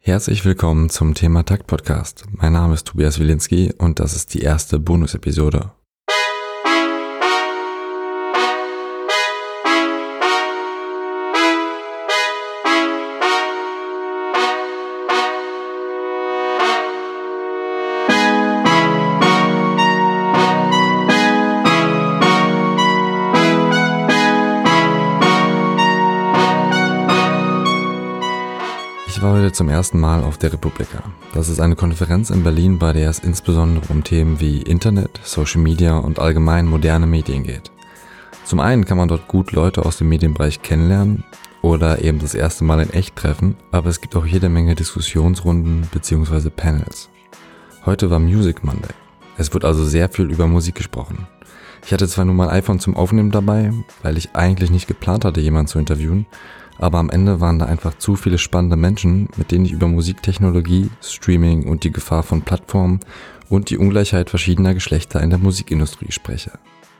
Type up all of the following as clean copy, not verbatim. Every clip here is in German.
Herzlich willkommen zum Thema Takt Podcast. Mein Name ist Tobias Wilinski und das ist die erste Bonus-Episode. Ich war heute zum ersten Mal auf der Republika. Das ist eine Konferenz in Berlin, bei der es insbesondere um Themen wie Internet, Social Media und allgemein moderne Medien geht. Zum einen kann man dort gut Leute aus dem Medienbereich kennenlernen oder eben das erste Mal in echt treffen, aber es gibt auch jede Menge Diskussionsrunden bzw. Panels. Heute war Music Monday. Es wird also sehr viel über Musik gesprochen. Ich hatte zwar nur mein iPhone zum Aufnehmen dabei, weil ich eigentlich nicht geplant hatte, jemanden zu interviewen, aber am Ende waren da einfach zu viele spannende Menschen, mit denen ich über Musiktechnologie, Streaming und die Gefahr von Plattformen und die Ungleichheit verschiedener Geschlechter in der Musikindustrie spreche.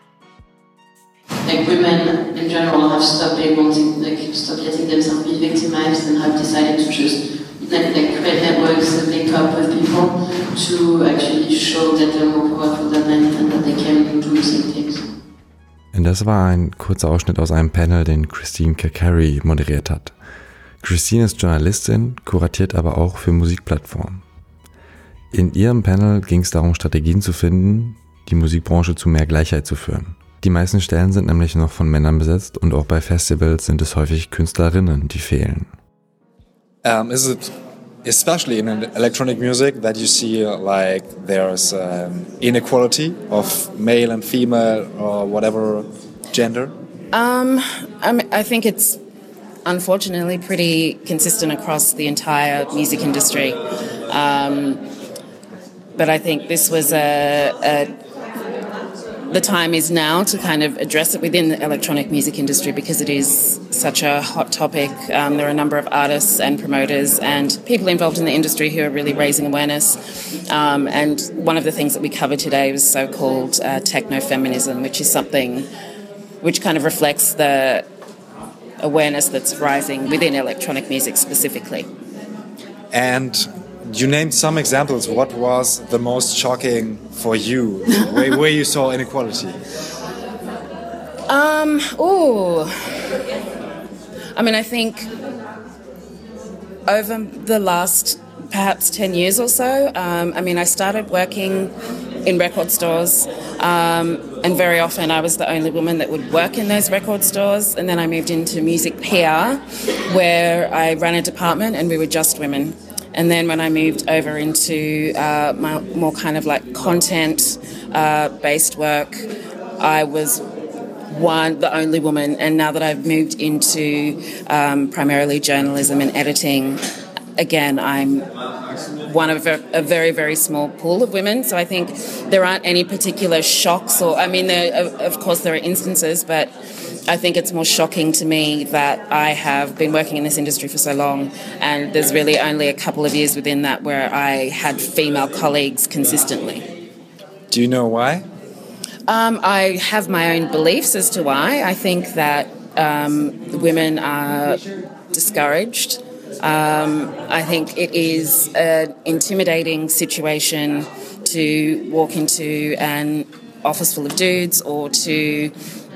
Like women in general have stopped letting themselves be victimized and have decided to just create networks and link up with people to actually show that they're more powerful than men and that they can do the same things. Und das war ein kurzer Ausschnitt aus einem Panel, den Christine Kakary moderiert hat. Christine ist Journalistin, kuratiert aber auch für Musikplattformen. In ihrem Panel ging es darum, Strategien zu finden, die Musikbranche zu mehr Gleichheit zu führen. Die meisten Stellen sind nämlich noch von Männern besetzt und auch bei Festivals sind es häufig Künstlerinnen, die fehlen. Is it especially in electronic music that you see like there's inequality of male and female or whatever gender? I think it's unfortunately pretty consistent across the entire music industry. But I think this was the time is now to kind of address it within the electronic music industry because it is such a hot topic. There are a number of artists and promoters and people involved in the industry who are really raising awareness. And one of the things that we covered today was so-called techno-feminism, which is something which kind of reflects the awareness that's rising within electronic music specifically. And you named some examples. What was the most shocking for you, where you saw inequality? I think over the last perhaps 10 years or so, I started working in record stores, and very often I was the only woman that would work in those record stores, and then I moved into music PR, where I ran a department and we were just women. And then when I moved over into my more kind of like content-based work, I was the only woman. And now that I've moved into primarily journalism and editing, again, I'm one of a very, very small pool of women. So I think there aren't any particular shocks of course there are instances, but I think it's more shocking to me that I have been working in this industry for so long and there's really only a couple of years within that where I had female colleagues consistently. Do you know why? I have my own beliefs as to why. I think that women are discouraged. I think it is an intimidating situation to walk into an office full of dudes or to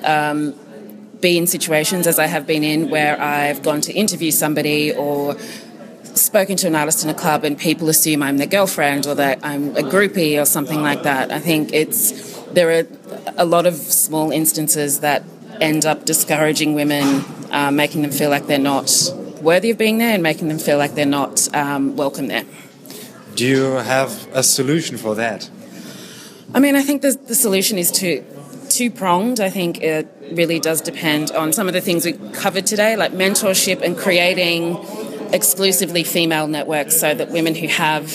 be in situations, as I have been in, where I've gone to interview somebody or spoken to an artist in a club and people assume I'm their girlfriend or that I'm a groupie or something like that. I think there are a lot of small instances that end up discouraging women, making them feel like they're not worthy of being there and making them feel like they're not welcome there. Do you have a solution for that? I think the solution is two-pronged. I think it really does depend on some of the things we covered today, like mentorship and creating exclusively female networks so that women who have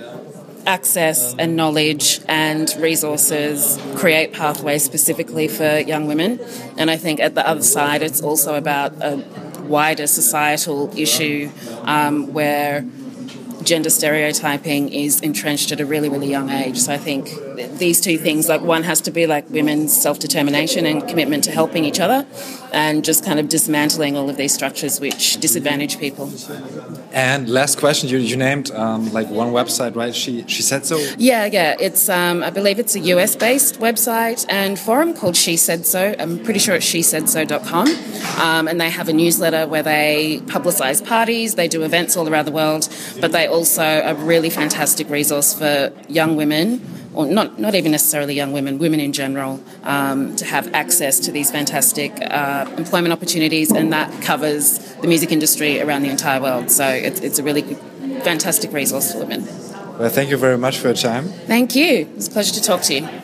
access and knowledge and resources create pathways specifically for young women. And I think at the other side, it's also about a wider societal issue where gender stereotyping is entrenched at a really, really young age. So I think these two things, like one has to be like women's self-determination and commitment to helping each other and just kind of dismantling all of these structures which disadvantage people. And last question, you named like one website, right? She said so. Yeah. It's I believe it's a US-based website and forum called She Said So. I'm pretty sure it's shesaidso.com. And they have a newsletter where they publicise parties. They do events all around the world, but they also are a really fantastic resource for young women, or not even necessarily young women, women in general, to have access to these fantastic employment opportunities, and that covers the music industry around the entire world. So it's a really good, fantastic resource for women. Well, thank you very much for your time. Thank you. It's a pleasure to talk to you.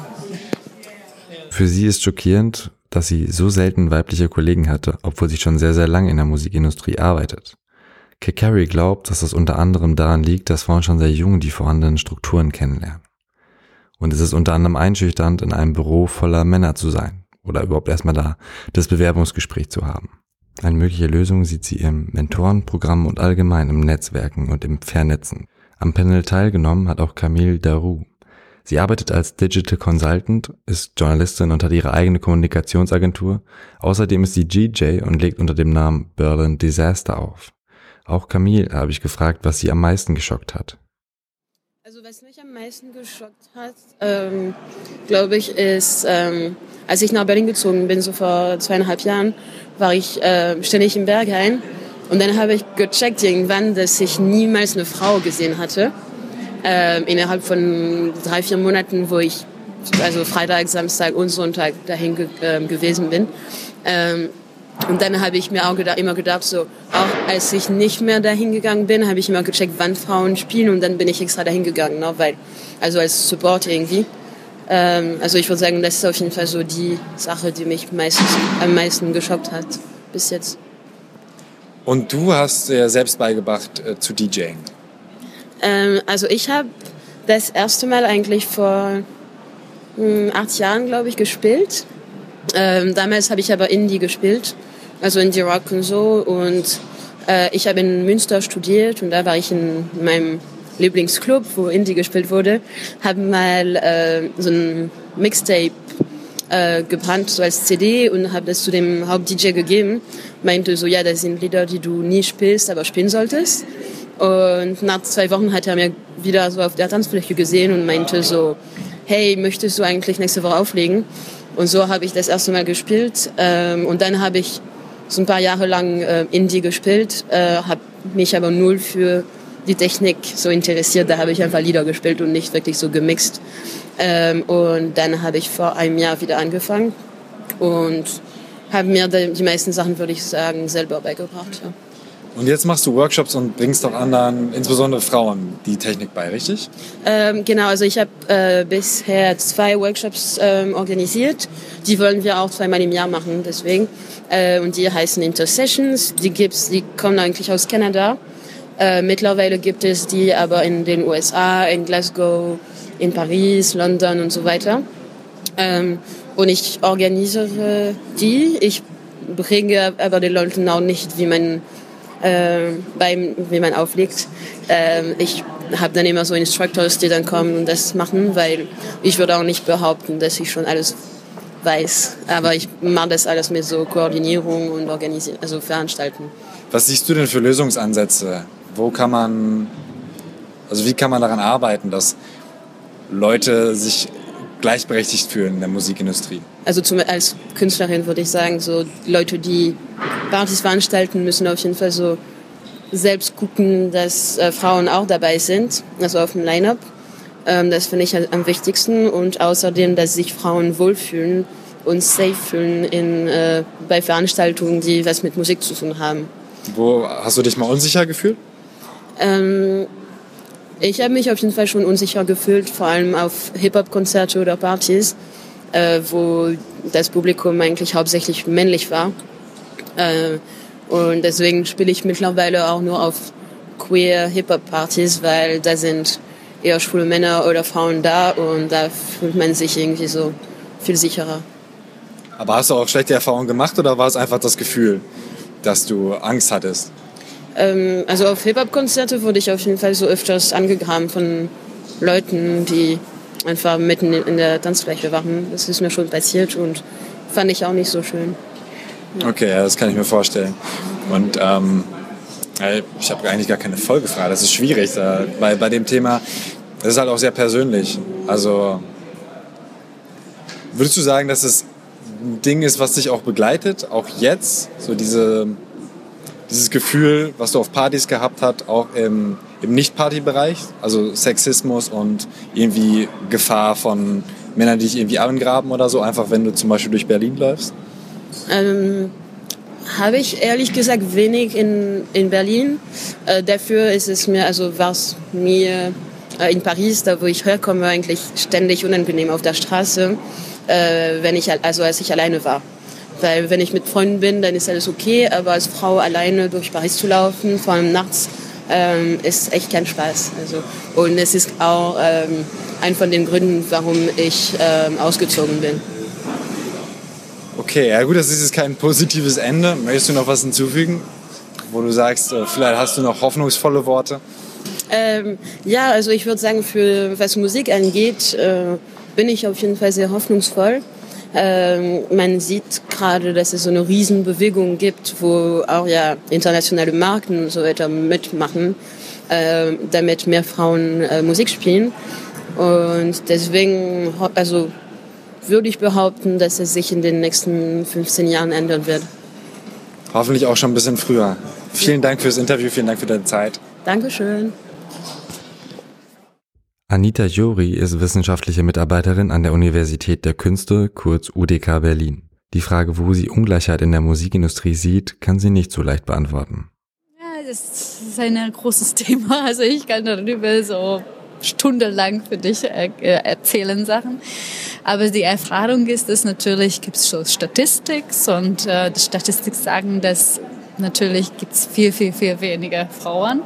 Für sie ist schockierend, dass sie so selten weibliche Kollegen hatte, obwohl sie schon sehr, sehr lange in der Musikindustrie arbeitet. Kekari glaubt, dass das unter anderem daran liegt, dass Frauen schon sehr jung die vorhandenen Strukturen kennenlernen. Und es ist unter anderem einschüchternd, in einem Büro voller Männer zu sein oder überhaupt erstmal da das Bewerbungsgespräch zu haben. Eine mögliche Lösung sieht sie im Mentorenprogramm und allgemein im Netzwerken und im Vernetzen. Am Panel teilgenommen hat auch Camille Darroux. Sie arbeitet als Digital Consultant, ist Journalistin und hat ihre eigene Kommunikationsagentur. Außerdem ist sie DJ und legt unter dem Namen Berlin Disaster auf. Auch Camille habe ich gefragt, was sie am meisten geschockt hat. Also was mich am meisten geschockt hat, glaube ich, ist, als ich nach Berlin gezogen bin, so vor 2,5 Jahren, war ich ständig im Berghain. Und dann habe ich gecheckt irgendwann, dass ich niemals eine Frau gesehen hatte. Innerhalb von 3-4 Monaten, wo ich also Freitag, Samstag und Sonntag dahin gewesen bin. Und dann habe ich mir auch immer gedacht, so, auch als ich nicht mehr dahin gegangen bin, habe ich immer gecheckt, wann Frauen spielen, und dann bin ich extra dahin gegangen, ne, weil, also als Support irgendwie. Also ich würde sagen, das ist auf jeden Fall so die Sache, die mich am meisten geschockt hat bis jetzt. Und du hast dir selbst beigebracht zu DJing? Also ich habe das erste Mal eigentlich vor 8 Jahren, glaube ich, gespielt. Damals habe ich aber Indie gespielt, also Indie Rock und so. Und ich habe in Münster studiert und da war ich in meinem Lieblingsclub, wo Indie gespielt wurde, habe mal so ein Mixtape gebrannt, so als CD, und habe das zu dem Haupt-DJ gegeben. Meinte so, ja, das sind Lieder, die du nie spielst, aber spielen solltest. Und nach 2 Wochen hat er mir wieder so auf der Tanzfläche gesehen und meinte so, hey, möchtest du eigentlich nächste Woche auflegen? Und so habe ich das erste Mal gespielt. Und dann habe ich so ein paar Jahre lang Indie gespielt, habe mich aber null für die Technik so interessiert. Da habe ich einfach Lieder gespielt und nicht wirklich so gemixt. Und dann habe ich vor einem Jahr wieder angefangen und habe mir die meisten Sachen, würde ich sagen, selber beigebracht. Ja. Und jetzt machst du Workshops und bringst auch anderen, insbesondere Frauen, die Technik bei, richtig? Genau, also ich habe bisher 2 Workshops organisiert. Die wollen wir auch 2-mal im Jahr machen, deswegen. Und die heißen Intersessions. Die kommen eigentlich aus Kanada. Mittlerweile gibt es die aber in den USA, in Glasgow, in Paris, London und so weiter. Und ich organisiere die. Ich bringe aber den Leuten auch nicht, wie man auflegt. Ich habe dann immer so Instructors, die dann kommen und das machen, weil ich würde auch nicht behaupten, dass ich schon alles weiß. Aber ich mache das alles mit so Koordinierung und also Veranstalten. Was siehst du denn für Lösungsansätze? Wie kann man daran arbeiten, dass Leute sich gleichberechtigt fühlen in der Musikindustrie? Also als Künstlerin würde ich sagen, so Leute, die Partys veranstalten, müssen auf jeden Fall so selbst gucken, dass Frauen auch dabei sind, also auf dem Line-Up. Das finde ich am wichtigsten. Und außerdem, dass sich Frauen wohlfühlen und safe fühlen bei Veranstaltungen, die was mit Musik zu tun haben. Wo hast du dich mal unsicher gefühlt? Ich habe mich auf jeden Fall schon unsicher gefühlt, vor allem auf Hip-Hop-Konzerte oder Partys, wo das Publikum eigentlich hauptsächlich männlich war. Und deswegen spiele ich mittlerweile auch nur auf Queer-Hip-Hop-Partys, weil da sind eher schwule Männer oder Frauen da und da fühlt man sich irgendwie so viel sicherer. Aber hast du auch schlechte Erfahrungen gemacht oder war es einfach das Gefühl, dass du Angst hattest? Also auf Hip-Hop-Konzerte wurde ich auf jeden Fall so öfters angegraben von Leuten, die einfach mitten in der Tanzfläche waren. Das ist mir schon passiert und fand ich auch nicht so schön. Ja. Okay, ja, das kann ich mir vorstellen. Und Ich habe eigentlich gar keine Folgefrage, das ist schwierig. Bei dem Thema, das ist halt auch sehr persönlich. Also würdest du sagen, dass es ein Ding ist, was dich auch begleitet, auch jetzt? So dieses Gefühl, was du auf Partys gehabt hast, auch im Nicht-Party-Bereich? Also Sexismus und irgendwie Gefahr von Männern, die dich irgendwie angraben oder so, einfach wenn du zum Beispiel durch Berlin läufst? Habe ich ehrlich gesagt wenig in Berlin. Dafür ist es mir, also war es mir in Paris, da wo ich herkomme, eigentlich ständig unangenehm auf der Straße, als ich alleine war. Weil wenn ich mit Freunden bin, dann ist alles okay, aber als Frau alleine durch Paris zu laufen, vor allem nachts, ist echt kein Spaß. Also, und es ist auch ein von den Gründen, warum ich ausgezogen bin. Okay, ja gut, das ist jetzt kein positives Ende. Möchtest du noch was hinzufügen, wo du sagst, vielleicht hast du noch hoffnungsvolle Worte? Ja, also ich würde sagen, was Musik angeht, bin ich auf jeden Fall sehr hoffnungsvoll. Man sieht gerade, dass es so eine Riesenbewegung gibt, wo auch ja internationale Marken und so weiter mitmachen, damit mehr Frauen Musik spielen. Und deswegen, also würde ich behaupten, dass es sich in den nächsten 15 Jahren ändern wird. Hoffentlich auch schon ein bisschen früher. Vielen Dank fürs Interview, vielen Dank für deine Zeit. Dankeschön. Anita Jory ist wissenschaftliche Mitarbeiterin an der Universität der Künste, kurz UDK Berlin. Die Frage, wo sie Ungleichheit in der Musikindustrie sieht, kann sie nicht so leicht beantworten. Ja, das ist ein großes Thema. Also ich kann darüber so stundenlang für dich erzählen Sachen. Aber die Erfahrung ist, dass natürlich gibt es so Statistik und die Statistik sagen, dass natürlich gibt es viel, viel, viel weniger Frauen.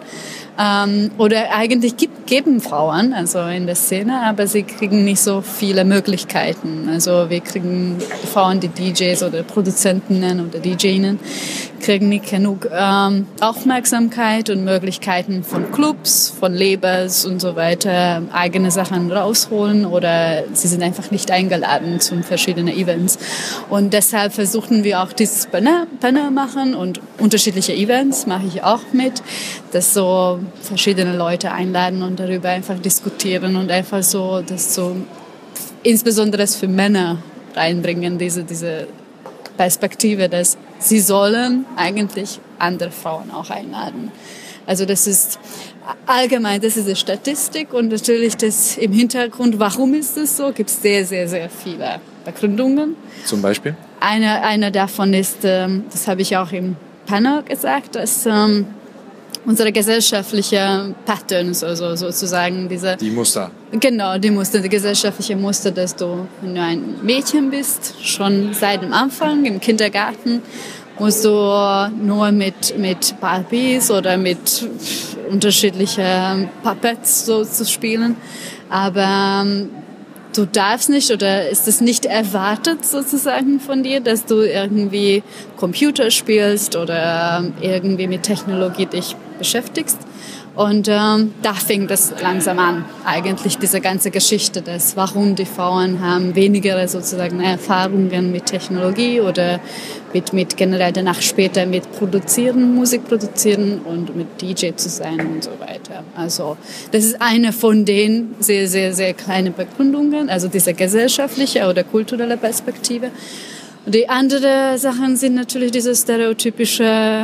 Oder eigentlich geben Frauen, also in der Szene, aber sie kriegen nicht so viele Möglichkeiten. Also wir kriegen Frauen, die DJs oder Produzentinnen oder DJinnen, kriegen nicht genug Aufmerksamkeit und Möglichkeiten von Clubs, von Labels und so weiter, eigene Sachen rausholen oder sie sind einfach nicht eingeladen zu verschiedenen Events. Und deshalb versuchen wir auch dieses Panel machen und unterschiedliche Events mache ich auch mit, dass so verschiedene Leute einladen und darüber einfach diskutieren und einfach so, das so insbesondere für Männer reinbringen, diese Perspektive, dass sie sollen eigentlich andere Frauen auch einladen. Also das ist allgemein, das ist die Statistik und natürlich das im Hintergrund, warum ist das so, gibt es sehr, sehr, sehr viele Begründungen. Zum Beispiel? Eine davon ist, das habe ich auch im Panel gesagt, dass unsere gesellschaftliche Patterns, also sozusagen die Muster. Genau, die gesellschaftliche Muster, dass du, wenn du ein Mädchen bist, schon seit dem Anfang im Kindergarten musst du nur mit Barbies oder mit unterschiedlichen Puppets so zu spielen, aber du darfst nicht oder ist es nicht erwartet sozusagen von dir, dass du irgendwie Computer spielst oder irgendwie mit Technologie dich beschäftigst. Und da fing das langsam an, eigentlich diese ganze Geschichte, dass warum die Frauen haben weniger sozusagen Erfahrungen mit Technologie oder mit generell danach später mit Musik produzieren und mit DJ zu sein und so weiter. Also das ist eine von den sehr, sehr, sehr kleinen Begründungen, also diese gesellschaftliche oder kulturelle Perspektive. Und die anderen Sachen sind natürlich diese stereotypische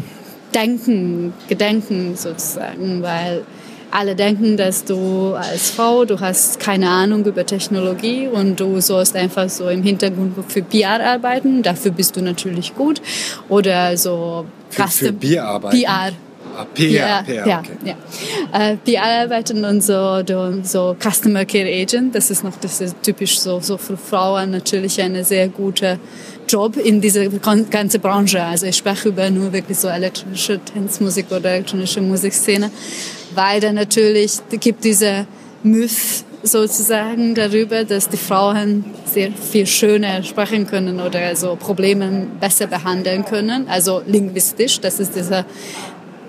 Gedenken sozusagen, weil alle denken, dass du als Frau, du hast keine Ahnung über Technologie und du sollst einfach so im Hintergrund für PR arbeiten, dafür bist du natürlich gut. Oder so... Für PR arbeiten? PR. PR, okay. Ja. PR arbeiten und so Customer Care Agent, das ist typisch so für Frauen natürlich eine sehr gute Job in dieser ganzen Branche. Also ich spreche über nur wirklich so elektronische Tanzmusik oder elektronische Musikszene, weil da natürlich gibt diese Myth sozusagen darüber, dass die Frauen sehr viel schöner sprechen können oder so Probleme besser behandeln können, also linguistisch, das ist dieser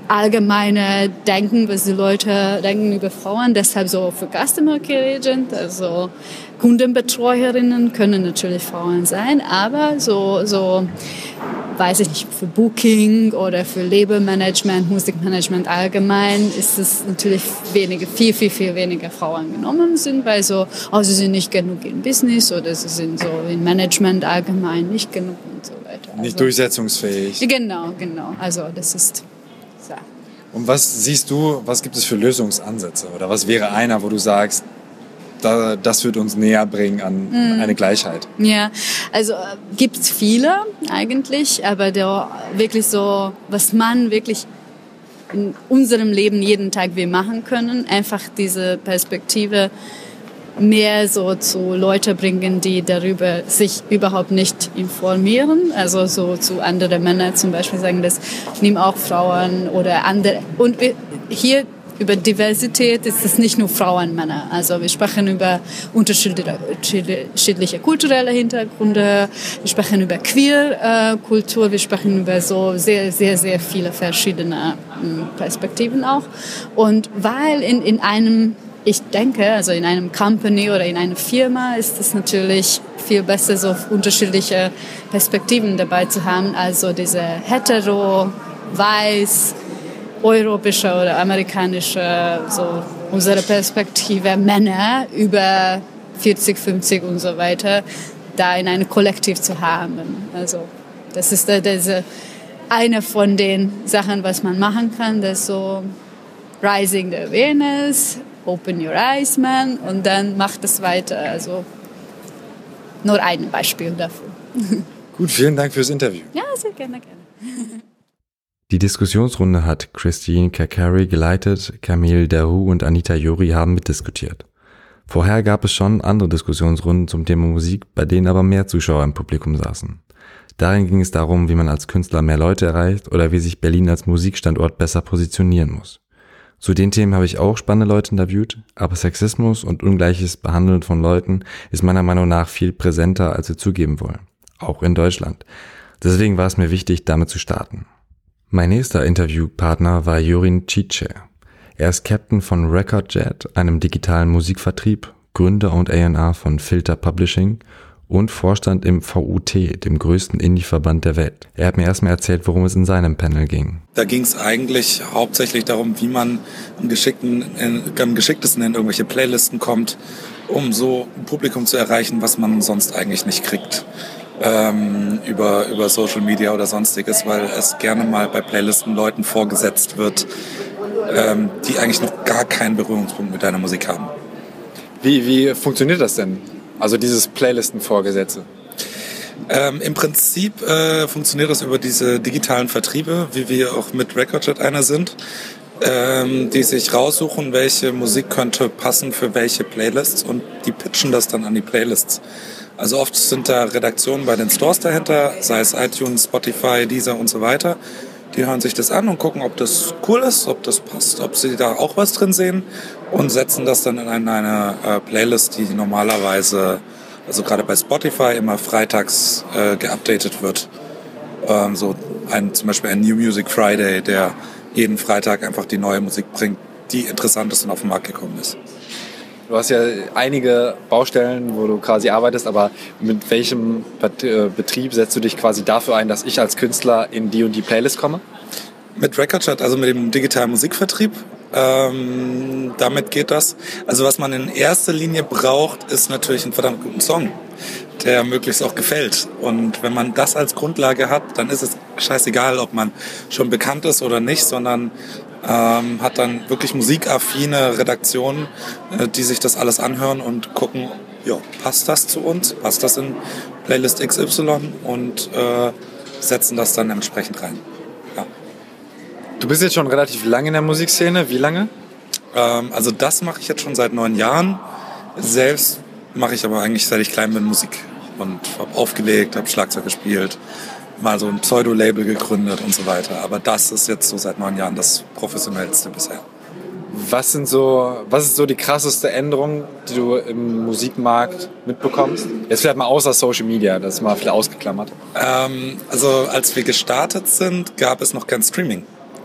allgemeine Denken, was die Leute denken über Frauen. Deshalb so für Customer Care Agent, also Kundenbetreuerinnen können natürlich Frauen sein, aber so weiß ich nicht, für Booking oder für Labelmanagement, Musikmanagement allgemein ist es natürlich viel weniger Frauen genommen sind, weil sie sind nicht genug im Business oder sie sind so im Management allgemein nicht genug und so weiter. Also, nicht durchsetzungsfähig. Genau. Also das ist so. Und was siehst du, was gibt es für Lösungsansätze? Oder was wäre einer, wo du sagst, das wird uns näher bringen an eine Gleichheit? Ja, also gibt es viele eigentlich, aber wirklich so, was man wirklich in unserem Leben jeden Tag wir machen können, einfach diese Perspektive mehr so zu Leute bringen, die darüber sich überhaupt nicht informieren. Also so zu anderen Männern zum Beispiel sagen, das nehmen auch Frauen oder andere. Und hier über Diversität ist es nicht nur Frauen, Männer. Also wir sprechen über unterschiedliche kulturelle Hintergründe, wir sprechen über Queer-Kultur, wir sprechen über so sehr, sehr, sehr viele verschiedene Perspektiven auch. Und weil in einem, ich denke, also in einem Company oder in einer Firma ist es natürlich viel besser, so unterschiedliche Perspektiven dabei zu haben, also diese hetero, weiß, europäische oder amerikanische, so unsere Perspektive Männer über 40, 50 und so weiter, da in einem Kollektiv zu haben. Also das ist eine von den Sachen, was man machen kann, das ist so Rising the Awareness, Open Your Eyes, man, und dann macht es weiter. Also nur ein Beispiel dafür. Gut, vielen Dank fürs Interview. Ja, sehr gerne. Die Diskussionsrunde hat Christine Kakari geleitet, Camille Daru und Anita Jori haben mitdiskutiert. Vorher gab es schon andere Diskussionsrunden zum Thema Musik, bei denen aber mehr Zuschauer im Publikum saßen. Darin ging es darum, wie man als Künstler mehr Leute erreicht oder wie sich Berlin als Musikstandort besser positionieren muss. Zu den Themen habe ich auch spannende Leute interviewt, aber Sexismus und ungleiches Behandeln von Leuten ist meiner Meinung nach viel präsenter, als wir zugeben wollen. Auch in Deutschland. Deswegen war es mir wichtig, damit zu starten. Mein nächster Interviewpartner war Jorin Cice. Er ist Captain von Recordjet, einem digitalen Musikvertrieb, Gründer und A&R von Filter Publishing und Vorstand im VUT, dem größten Indie-Verband der Welt. Er hat mir erstmal erzählt, worum es in seinem Panel ging. Da ging es eigentlich hauptsächlich darum, wie man am geschicktesten in irgendwelche Playlisten kommt, um so ein Publikum zu erreichen, was man sonst eigentlich nicht kriegt. Über Social Media oder sonstiges, weil es gerne mal bei Playlisten Leuten vorgesetzt wird, die eigentlich noch gar keinen Berührungspunkt mit deiner Musik haben. Wie funktioniert das denn? Also dieses Playlisten-Vorgesetze? Im Prinzip funktioniert das über diese digitalen Vertriebe, wie wir auch mit Recordjet einer sind, die sich raussuchen, welche Musik könnte passen für welche Playlists und die pitchen das dann an die Playlists. Also oft sind da Redaktionen bei den Stores dahinter, sei es iTunes, Spotify, Deezer und so weiter. Die hören sich das an und gucken, ob das cool ist, ob das passt, ob sie da auch was drin sehen und setzen das dann in eine Playlist, die normalerweise, also gerade bei Spotify, immer freitags geupdatet wird. Zum Beispiel ein New Music Friday, der jeden Freitag einfach die neue Musik bringt, die interessant ist und auf den Markt gekommen ist. Du hast ja einige Baustellen, wo du quasi arbeitest, aber mit welchem Betrieb setzt du dich quasi dafür ein, dass ich als Künstler in die und die Playlist komme? Mit Recordjet, also mit dem digitalen Musikvertrieb, damit geht das. Also was man in erster Linie braucht, ist natürlich einen verdammt guten Song, der möglichst auch gefällt. Und wenn man das als Grundlage hat, dann ist es scheißegal, ob man schon bekannt ist oder nicht, sondern hat dann wirklich musikaffine Redaktionen, die sich das alles anhören und gucken, ja, passt das zu uns, passt das in Playlist XY und setzen das dann entsprechend rein. Ja. Du bist jetzt schon relativ lange in der Musikszene. Wie lange? Also das mache ich jetzt schon seit 9 Jahren. Selbst mache ich aber eigentlich, seit ich klein bin, Musik und habe aufgelegt, habe Schlagzeug gespielt, mal so ein Pseudo-Label gegründet und so weiter. Aber das ist jetzt so seit 9 Jahren das Professionellste bisher. Was ist so die krasseste Änderung, die du im Musikmarkt mitbekommst? Jetzt vielleicht mal außer Social Media, das ist mal viel ausgeklammert. Also als wir gestartet sind, gab es noch kein Streaming.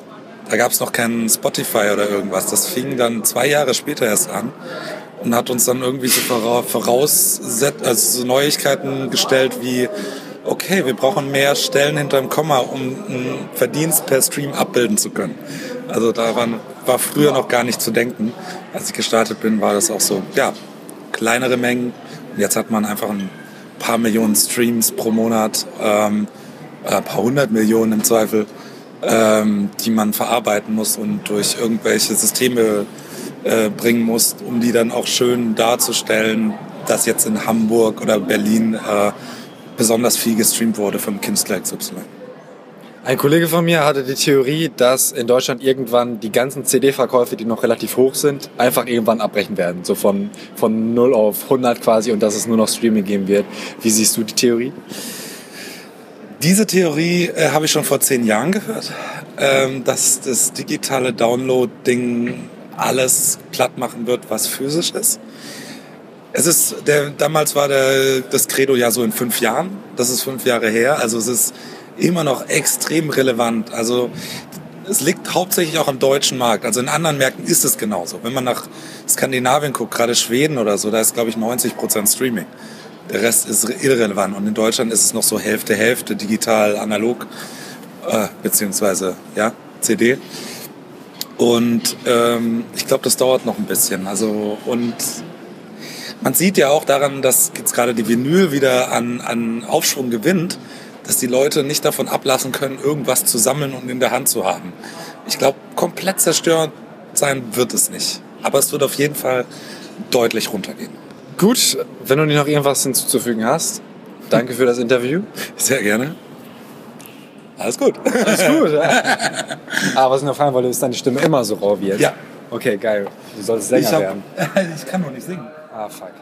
Da gab es noch keinen Spotify oder irgendwas. Das fing dann 2 Jahre später erst an und hat uns dann irgendwie so so Neuigkeiten gestellt wie, okay, wir brauchen mehr Stellen hinterm Komma, um einen Verdienst per Stream abbilden zu können. Also da war früher noch gar nicht zu denken. Als ich gestartet bin, war das auch so, ja, kleinere Mengen. Und jetzt hat man einfach ein paar Millionen Streams pro Monat, ein paar 100 Millionen im Zweifel, die man verarbeiten muss und durch irgendwelche Systeme bringen muss, um die dann auch schön darzustellen, dass jetzt in Hamburg oder Berlin besonders viel gestreamt wurde vom Künstler XY. Ein Kollege von mir hatte die Theorie, dass in Deutschland irgendwann die ganzen CD-Verkäufe, die noch relativ hoch sind, einfach irgendwann abbrechen werden. So von 0 auf 100 quasi und dass es nur noch Streaming geben wird. Wie siehst du die Theorie? Diese Theorie habe ich schon vor 10 Jahren gehört, dass das digitale Download-Ding alles platt machen wird, was physisch ist. Damals war das Credo ja so in 5 Jahren. Das ist 5 Jahre her. Also es ist immer noch extrem relevant. Also es liegt hauptsächlich auch am deutschen Markt. Also in anderen Märkten ist es genauso. Wenn man nach Skandinavien guckt, gerade Schweden oder so, da ist, glaube ich, 90% Streaming. Der Rest ist irrelevant. Und in Deutschland ist es noch so Hälfte, digital, analog, beziehungsweise ja, CD. Und ich glaube, das dauert noch ein bisschen. Also, und man sieht ja auch daran, dass jetzt gerade die Vinyl wieder an Aufschwung gewinnt, dass die Leute nicht davon ablassen können, irgendwas zu sammeln und in der Hand zu haben. Ich glaube, komplett zerstört sein wird es nicht. Aber es wird auf jeden Fall deutlich runtergehen. Gut, wenn du nicht noch irgendwas hinzuzufügen hast, danke für das Interview. Sehr gerne. Alles gut. Alles gut. Aber was ich noch fragen wollte, ist deine Stimme immer so rau wie jetzt? Ja. Okay, geil. Du solltest Sänger werden. Ich kann noch nicht singen. Ah, fuck.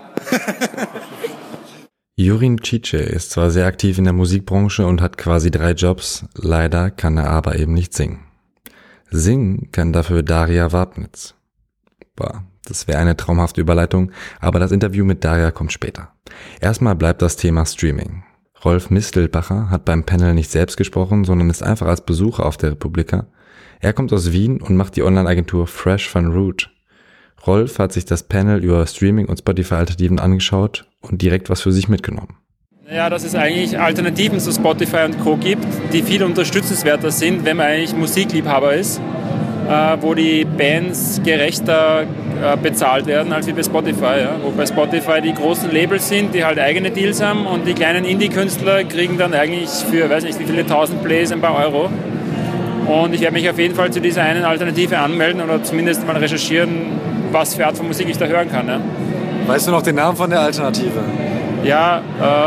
Jurin Cice ist zwar sehr aktiv in der Musikbranche und hat quasi 3 Jobs, leider kann er aber eben nicht singen. Singen kann dafür Daria Wabnitz. Boah, das wäre eine traumhafte Überleitung, aber das Interview mit Daria kommt später. Erstmal bleibt das Thema Streaming. Rolf Mistelbacher hat beim Panel nicht selbst gesprochen, sondern ist einfach als Besucher auf der Republika. Er kommt aus Wien und macht die Online-Agentur Fresh van Root. Rolf hat sich das Panel über Streaming und Spotify-Alternativen angeschaut und direkt was für sich mitgenommen. Ja, dass es eigentlich Alternativen zu Spotify und Co. gibt, die viel unterstützenswerter sind, wenn man eigentlich Musikliebhaber ist, wo die Bands gerechter bezahlt werden als wie bei Spotify. Ja. Wo bei Spotify die großen Labels sind, die halt eigene Deals haben und die kleinen Indie-Künstler kriegen dann eigentlich für, weiß nicht wie viele 1000 Plays ein paar Euro. Und ich werde mich auf jeden Fall zu dieser einen Alternative anmelden oder zumindest mal recherchieren, was für Art von Musik ich da hören kann. Ja. Weißt du noch den Namen von der Alternative? Ja,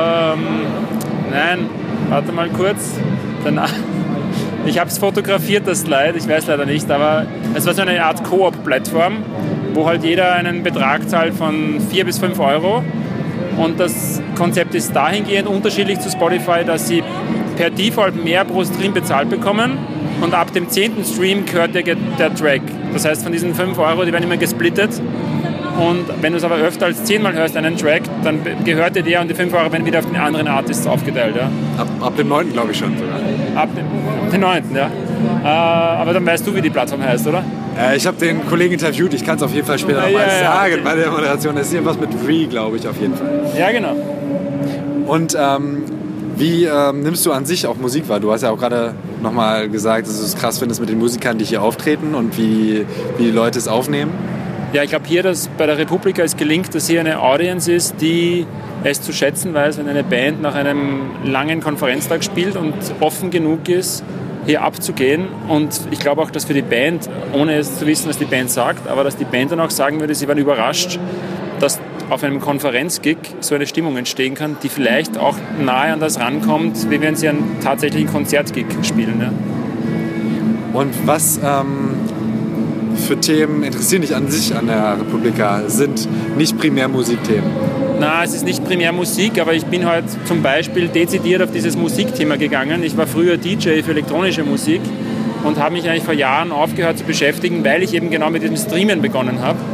nein, warte mal kurz. Ich habe es fotografiert, das Slide, ich weiß leider nicht, aber es war so eine Art Koop-Plattform, wo halt jeder einen Betrag zahlt von 4 bis 5 Euro. Und das Konzept ist dahingehend unterschiedlich zu Spotify, dass sie per Default mehr pro Stream bezahlt bekommen und ab dem 10. Stream gehört der Track. Das heißt, von diesen 5 Euro, die werden immer gesplittet. Und wenn du es aber öfter als 10 Mal hörst, einen Track, dann gehört dir der und die 5 Euro werden wieder auf den anderen Artists aufgeteilt. Ja. Ab dem 9. glaube ich schon sogar. Ab dem 9. ja. Aber dann weißt du, wie die Plattform heißt, oder? Ich habe den Kollegen interviewt, ich kann es auf jeden Fall später nochmal sagen bei der Moderation. Das ist irgendwas mit Re, glaube ich, auf jeden Fall. Ja, genau. Und wie nimmst du an sich auch Musik wahr? Du hast ja auch gerade nochmal gesagt, dass du es krass findest mit den Musikern, die hier auftreten und wie die Leute es aufnehmen. Ja, ich glaube hier, dass bei der Republika es gelingt, dass hier eine Audience ist, die es zu schätzen weiß, wenn eine Band nach einem langen Konferenztag spielt und offen genug ist, hier abzugehen. Und ich glaube auch, dass für die Band, ohne es zu wissen, was die Band sagt, aber dass die Band dann auch sagen würde, sie waren überrascht, dass auf einem Konferenzgig so eine Stimmung entstehen kann, die vielleicht auch nahe an das rankommt, wie wenn sie einen tatsächlichen Konzertgig spielen. Ja. Und was für Themen interessieren dich an sich an der Republika? Sind nicht primär Musikthemen? Na, es ist nicht primär Musik, aber ich bin heute zum Beispiel dezidiert auf dieses Musikthema gegangen. Ich war früher DJ für elektronische Musik und habe mich eigentlich vor Jahren aufgehört zu beschäftigen, weil ich eben genau mit diesem Streamen begonnen habe.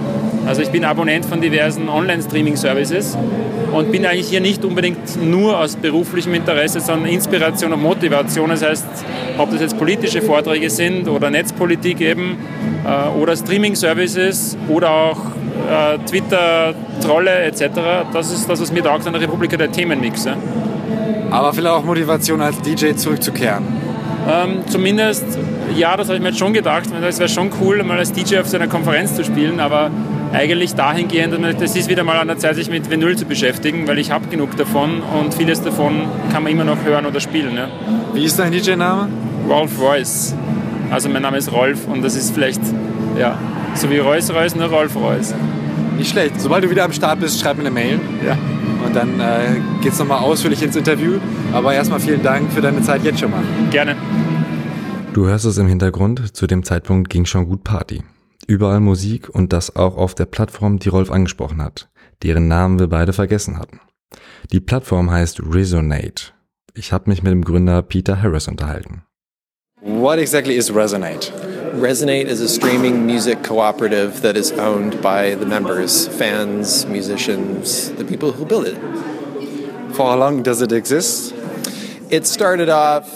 Also ich bin Abonnent von diversen Online-Streaming-Services und bin eigentlich hier nicht unbedingt nur aus beruflichem Interesse, sondern Inspiration und Motivation. Das heißt, ob das jetzt politische Vorträge sind oder Netzpolitik eben oder Streaming-Services oder auch Twitter, Trolle etc. Das ist das, was mir taugt an der Republika, der Themenmix. Ja. Aber vielleicht auch Motivation als DJ zurückzukehren. Zumindest, ja, das habe ich mir jetzt schon gedacht. Es wäre schon cool, mal als DJ auf so einer Konferenz zu spielen, aber eigentlich dahingehend, das ist wieder mal an der Zeit, sich mit Vinyl zu beschäftigen, weil ich habe genug davon und vieles davon kann man immer noch hören oder spielen. Ja. Wie ist dein DJ-Name? Rolf Royce. Also mein Name ist Rolf und das ist vielleicht, ja, so wie Royce Royce, nur Rolf Royce. Nicht schlecht. Sobald du wieder am Start bist, schreib mir eine Mail. Ja. Und dann geht's nochmal ausführlich ins Interview. Aber erstmal vielen Dank für deine Zeit jetzt schon mal. Gerne. Du hörst es im Hintergrund, zu dem Zeitpunkt ging schon gut Party. Überall Musik und das auch auf der Plattform, die Rolf angesprochen hat, deren Namen wir beide vergessen hatten. Die Plattform heißt Resonate. Ich habe mich mit dem Gründer Peter Harris unterhalten. What exactly is Resonate? Resonate is a streaming music cooperative that is owned by the members, fans, musicians, the people who build it. For how long does it exist? It started off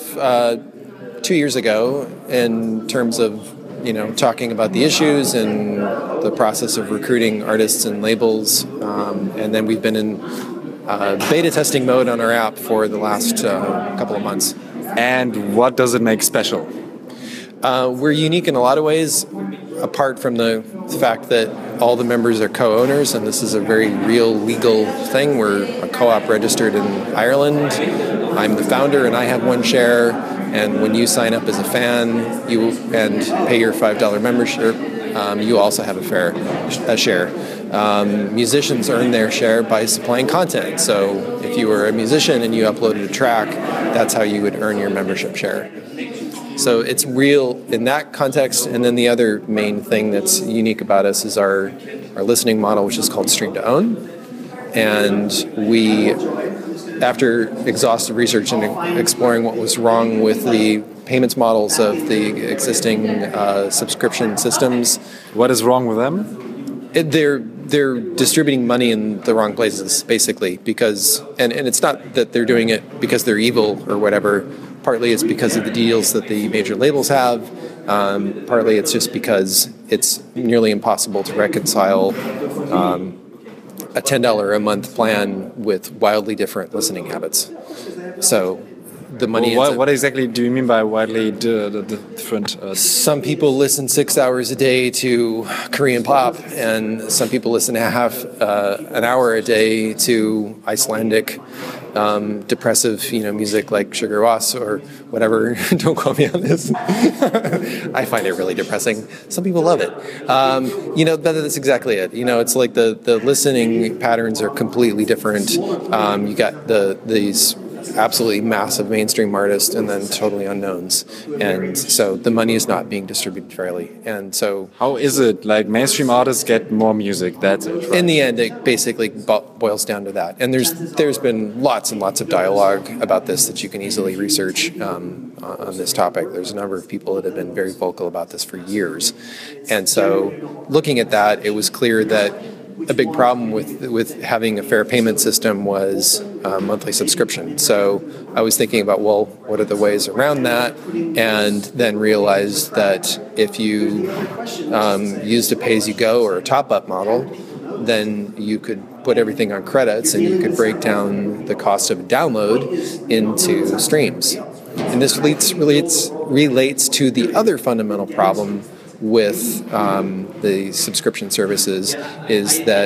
2 years ago in terms of, talking about the issues and the process of recruiting artists and labels. And then we've been in beta testing mode on our app for the last couple of months. And what does it make special? We're unique in a lot of ways, apart from the fact that all the members are co-owners, and this is a very real legal thing. We're a co-op registered in Ireland. I'm the founder, and I have one share. And when you sign up as a fan and pay your $5 membership, you also have a share. Musicians earn their share by supplying content. So if you were a musician and you uploaded a track, that's how you would earn your membership share. So it's real in that context. And then the other main thing that's unique about us is our listening model, which is called Stream to Own. And we, after exhaustive research and exploring what was wrong with the payments models of the existing subscription systems. What is wrong with them? They're distributing money in the wrong places, basically, because and it's not that they're doing it because they're evil or whatever. Partly it's because of the deals that the major labels have. Partly it's just because it's nearly impossible to reconcile a $10 a month plan with wildly different listening habits. So the money. Well, what exactly do you mean by widely different? Some people listen 6 hours a day to Korean pop, and some people listen half an hour a day to Icelandic depressive, music like Sugar Ross or whatever. Don't quote me on this. I find it really depressing. Some people love it. That's exactly it. It's like the listening patterns are completely different. You got these absolutely massive mainstream artists and then totally unknowns, and so the money is not being distributed fairly. And so how is it like mainstream artists get more music? That's it, right? In the end, it basically boils down to that. And there's been lots and lots of dialogue about this that you can easily research on this topic. There's a number of people that have been very vocal about this for years, and so looking at that, it was clear that a big problem with having a fair payment system was monthly subscription. So I was thinking about, well, what are the ways around that? And then realized that if you used a pay-as-you-go or a top-up model, then you could put everything on credits and you could break down the cost of a download into streams. And this relates to the other fundamental problem with the subscription services is that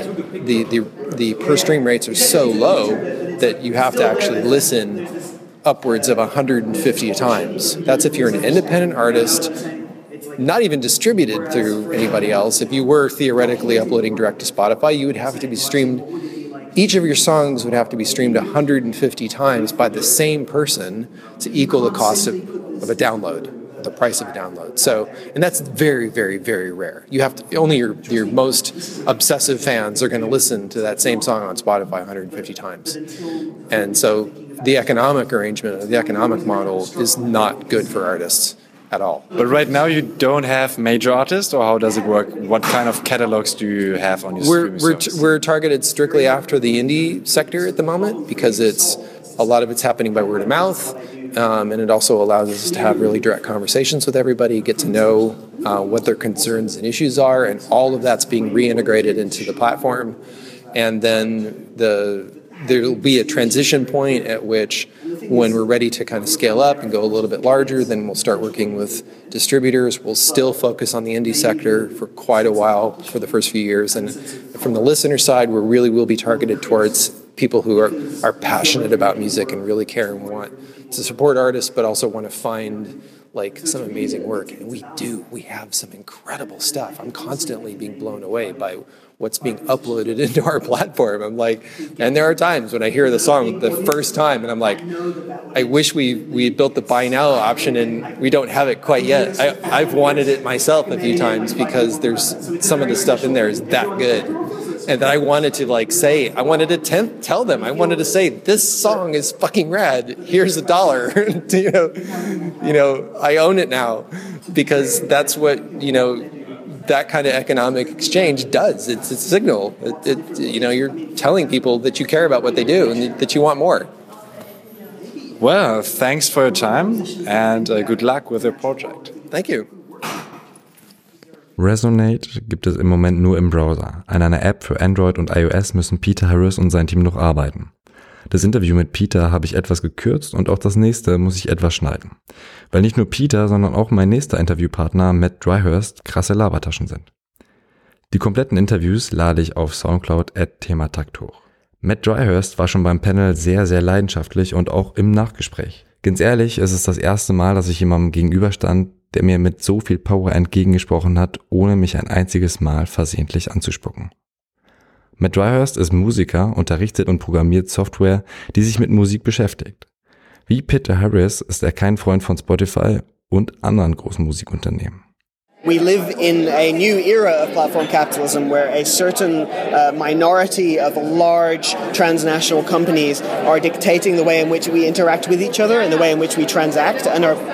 the per stream rates are so low that you have to actually listen upwards of 150 times. That's if you're an independent artist, not even distributed through anybody else. If you were theoretically uploading direct to Spotify, you would have to be streamed. Each of your songs would have to be streamed 150 times by the same person to equal the cost of a download. The price of a download. So, and that's very, very, very rare. You have to, only your most obsessive fans are going to listen to that same song on Spotify 150 times. And so the economic arrangement, the economic model is not good for artists. at all. But right now you don't have major artists, or how does it work? What kind of catalogs do you have on your streaming service? We're targeted strictly after the indie sector at the moment because a lot of it's happening by word of mouth, and it also allows us to have really direct conversations with everybody, get to know what their concerns and issues are, and all of that's being reintegrated into the platform. And then there'll be a transition point at which, when we're ready to kind of scale up and go a little bit larger, then we'll start working with distributors. We'll still focus on the indie sector for quite a while for the first few years. And from the listener side, we really will be targeted towards people who are passionate about music and really care and want to support artists, but also want to find like some amazing work. And we have some incredible stuff. I'm constantly being blown away by what's being uploaded into our platform. I'm like, and there are times when I hear the song the first time and I'm like, I wish we built the buy now option and we don't have it quite yet. I've wanted it myself a few times because there's some of the stuff in there is that good. And that I wanted to I wanted to tell them, I wanted to say, this song is fucking rad. Here's $1. I own it now, because that's what, that kind of economic exchange does. It's a signal. You're telling people that you care about what they do and that you want more. Well, thanks for your time and good luck with your project. Thank you. Resonate gibt es im Moment nur im Browser. An einer App für Android und iOS müssen Peter Harris und sein Team noch arbeiten. Das Interview mit Peter habe ich etwas gekürzt und auch das nächste muss ich etwas schneiden. Weil nicht nur Peter, sondern auch mein nächster Interviewpartner Matt Dryhurst krasse Labertaschen sind. Die kompletten Interviews lade ich auf Soundcloud@thematakt hoch. Matt Dryhurst war schon beim Panel sehr, sehr leidenschaftlich und auch im Nachgespräch. Ganz ehrlich, es ist das erste Mal, dass ich jemandem gegenüberstand, der mir mit so viel Power entgegengesprochen hat, ohne mich ein einziges Mal versehentlich anzuspucken. Matt Dryhurst ist Musiker, unterrichtet und programmiert Software, die sich mit Musik beschäftigt. Wie Peter Harris ist er kein Freund von Spotify und anderen großen Musikunternehmen. We live in a new era of platform capitalism where a certain minority of large transnational companies are dictating the way in which we interact with each other and the way in which we transact and are,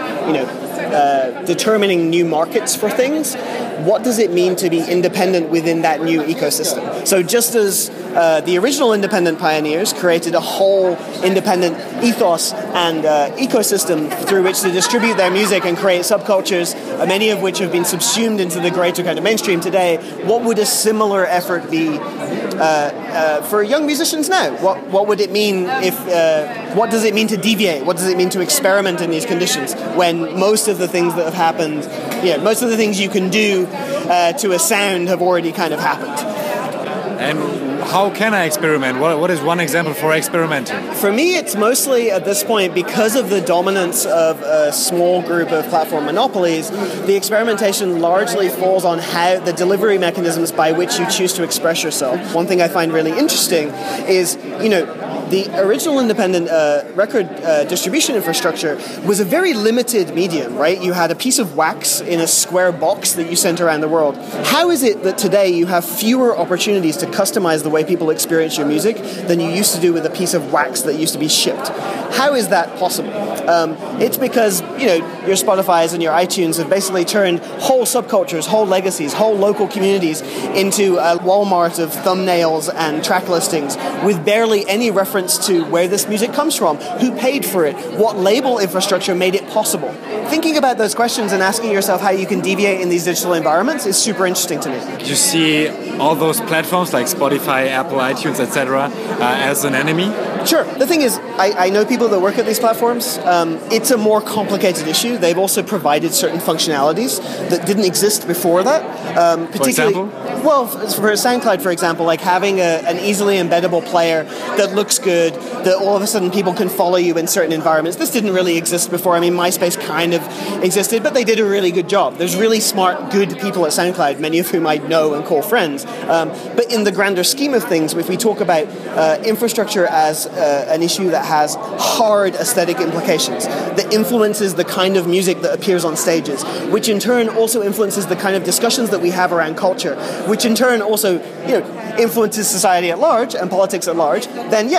determining new markets for things. What does it mean to be independent within that new ecosystem? So just as the original independent pioneers created a whole independent ethos and ecosystem through which to distribute their music and create subcultures, many of which have been subsumed into the greater kind of mainstream today, what would a similar effort be for young musicians now? What would it mean what does it mean to deviate? What does it mean to experiment in these conditions when most of the things that have happened, most of the things you can do to a sound have already kind of happened? And how can I experiment? What is one example for experimenting? For me, it's mostly at this point, because of the dominance of a small group of platform monopolies, the experimentation largely falls on how the delivery mechanisms by which you choose to express yourself. One thing I find really interesting is, the original independent record distribution infrastructure was a very limited medium, right? You had a piece of wax in a square box that you sent around the world. How is it that today you have fewer opportunities to customize the way people experience your music than you used to do with a piece of wax that used to be shipped? How is that possible? It's because, your Spotify's and your iTunes have basically turned whole subcultures, whole legacies, whole local communities into a Walmart of thumbnails and track listings with barely any reference to where this music comes from, who paid for it, what label infrastructure made it possible. Thinking about those questions and asking yourself how you can deviate in these digital environments is super interesting to me. You see all those platforms like Spotify, Apple, iTunes, etc. As an enemy? Sure. The thing is, I know people that work at these platforms. It's a more complicated issue. They've also provided certain functionalities that didn't exist before that. For example? Well, for SoundCloud, for example, like having an easily embeddable player that looks good, that all of a sudden people can follow you in certain environments. This didn't really exist before. I mean, MySpace kind of existed, but they did a really good job. There's really smart, good people at SoundCloud, many of whom I know and call friends. But in the grander scheme of things, if we talk about infrastructure as an issue that has hard aesthetic implications, that influences the kind of music that appears on stages, which in turn also influences the kind of discussions that we have around culture, which in turn also influences society at large and politics at large, then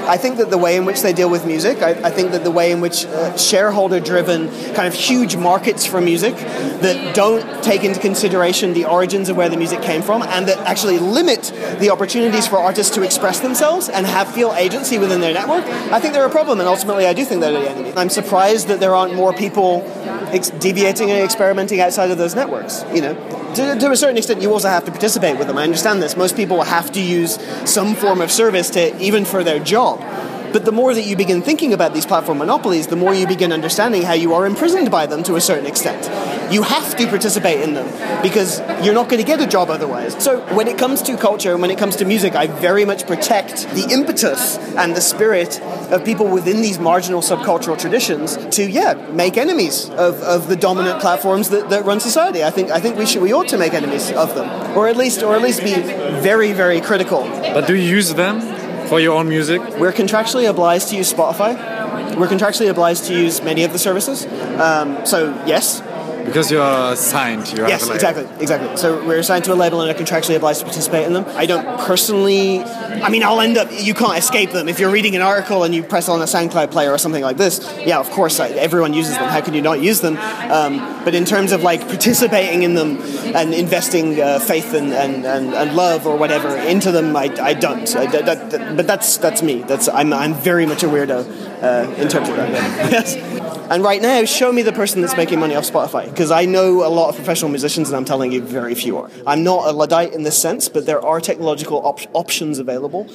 I think that the way in which they deal with music, I think that the way in which shareholder-driven kind of huge markets for music that don't take into consideration the origins of where the music came from and that actually limit the opportunities for artists to express themselves and feel agency within their network, I think they're a problem, and ultimately I do think they're the enemy. I'm surprised that there aren't more people deviating and experimenting outside of those networks, you know. To a certain extent, you also have to participate with them. I understand this. Most people have to use some form of service even for their job. But the more that you begin thinking about these platform monopolies, the more you begin understanding how you are imprisoned by them to a certain extent. You have to participate in them because you're not going to get a job otherwise. So when it comes to culture and when it comes to music, I very much protect the impetus and the spirit of people within these marginal subcultural traditions to, make enemies of the dominant platforms that run society. I think we ought to make enemies of them, or at least be very, very critical. But do you use them for your own music? We're contractually obliged to use Spotify. We're contractually obliged to use many of the services. So yes. Because you're signed. Yes, exactly. So we're assigned to a label and are contractually obliged to participate in them. I don't personally... I mean, I'll end up... You can't escape them. If you're reading an article and you press on a SoundCloud player or something like this, yeah, of course, everyone uses them. How can you not use them? But in terms of like participating in them and investing faith and love or whatever into them, I don't. But that's me. I'm very much a weirdo in terms of that. Yes. And right now, show me the person that's making money off Spotify, because I know a lot of professional musicians, and I'm telling you, very few are. I'm not a Luddite in this sense, but there are technological options available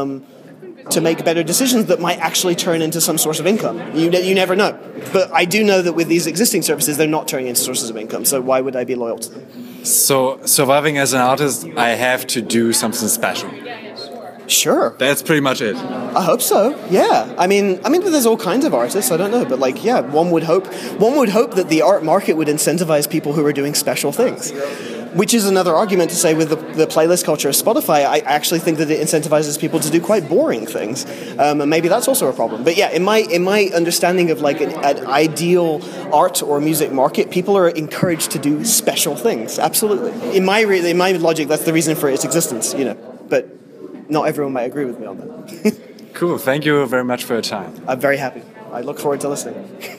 to make better decisions that might actually turn into some source of income. You never know. But I do know that with these existing services, they're not turning into sources of income, so why would I be loyal to them? So, surviving as an artist, I have to do something special. Sure. That's pretty much it. I hope so. Yeah. I mean, there's all kinds of artists. I don't know, but one would hope that the art market would incentivize people who are doing special things. Which is another argument to say with the playlist culture of Spotify. I actually think that it incentivizes people to do quite boring things, and maybe that's also a problem. But yeah, in my understanding of like an ideal art or music market, people are encouraged to do special things. Absolutely. In my logic, that's the reason for its existence. You know, but. Not everyone might agree with me on that. Cool. Thank you very much for your time. I'm very happy. I look forward to listening.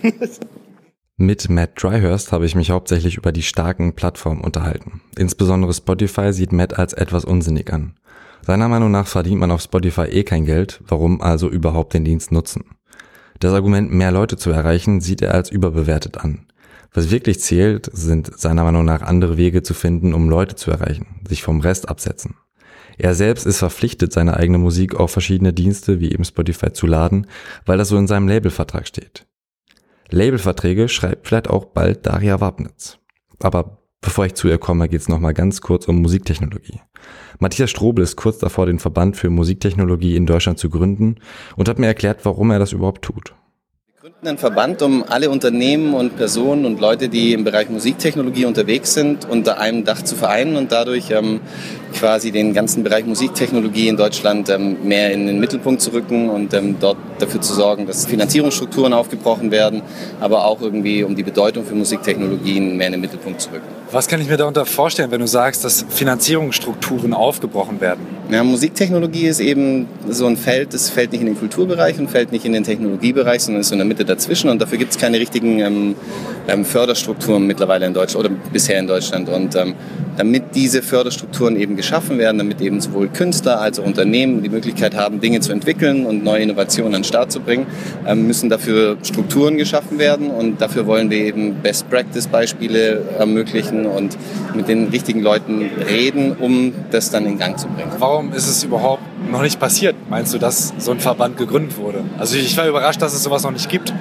Mit Matt Dryhurst habe ich mich hauptsächlich über die starken Plattformen unterhalten. Insbesondere Spotify sieht Matt als etwas unsinnig an. Seiner Meinung nach verdient man auf Spotify kein Geld, warum also überhaupt den Dienst nutzen? Das Argument, mehr Leute zu erreichen, sieht er als überbewertet an. Was wirklich zählt, sind seiner Meinung nach andere Wege zu finden, um Leute zu erreichen, sich vom Rest absetzen. Er selbst ist verpflichtet, seine eigene Musik auf verschiedene Dienste wie eben Spotify zu laden, weil das so in seinem Labelvertrag steht. Labelverträge schreibt vielleicht auch bald Daria Wabnitz. Aber bevor ich zu ihr komme, geht's nochmal ganz kurz um Musiktechnologie. Matthias Strobel ist kurz davor, den Verband für Musiktechnologie in Deutschland zu gründen und hat mir erklärt, warum er das überhaupt tut. Wir gründen einen Verband, um alle Unternehmen und Personen und Leute, die im Bereich Musiktechnologie unterwegs sind, unter einem Dach zu vereinen und dadurch quasi den ganzen Bereich Musiktechnologie in Deutschland mehr in den Mittelpunkt zu rücken und dort dafür zu sorgen, dass Finanzierungsstrukturen aufgebrochen werden, aber auch irgendwie um die Bedeutung für Musiktechnologien mehr in den Mittelpunkt zu rücken. Was kann ich mir darunter vorstellen, wenn du sagst, dass Finanzierungsstrukturen aufgebrochen werden? Ja, Musiktechnologie ist eben so ein Feld, das fällt nicht in den Kulturbereich und fällt nicht in den Technologiebereich, sondern ist so in der Mitte dazwischen und dafür gibt es keine richtigen Förderstrukturen mittlerweile in Deutschland oder bisher in Deutschland und damit diese Förderstrukturen eben geschaffen werden, damit eben sowohl Künstler als auch Unternehmen die Möglichkeit haben, Dinge zu entwickeln und neue Innovationen an den Start zu bringen, müssen dafür Strukturen geschaffen werden und dafür wollen wir eben Best-Practice-Beispiele ermöglichen und mit den richtigen Leuten reden, um das dann in Gang zu bringen. Warum ist es überhaupt noch nicht passiert? Meinst du, dass so ein Verband gegründet wurde? Also ich war überrascht, dass es sowas noch nicht gibt.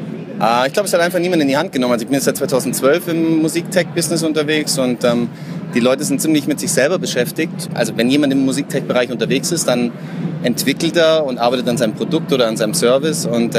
Ich glaube, es hat einfach niemand in die Hand genommen. Also ich bin jetzt seit 2012 im Musiktech-Business unterwegs und die Leute sind ziemlich mit sich selber beschäftigt. Also wenn jemand im Musiktech-Bereich unterwegs ist, dann entwickelt er und arbeitet an seinem Produkt oder an seinem Service und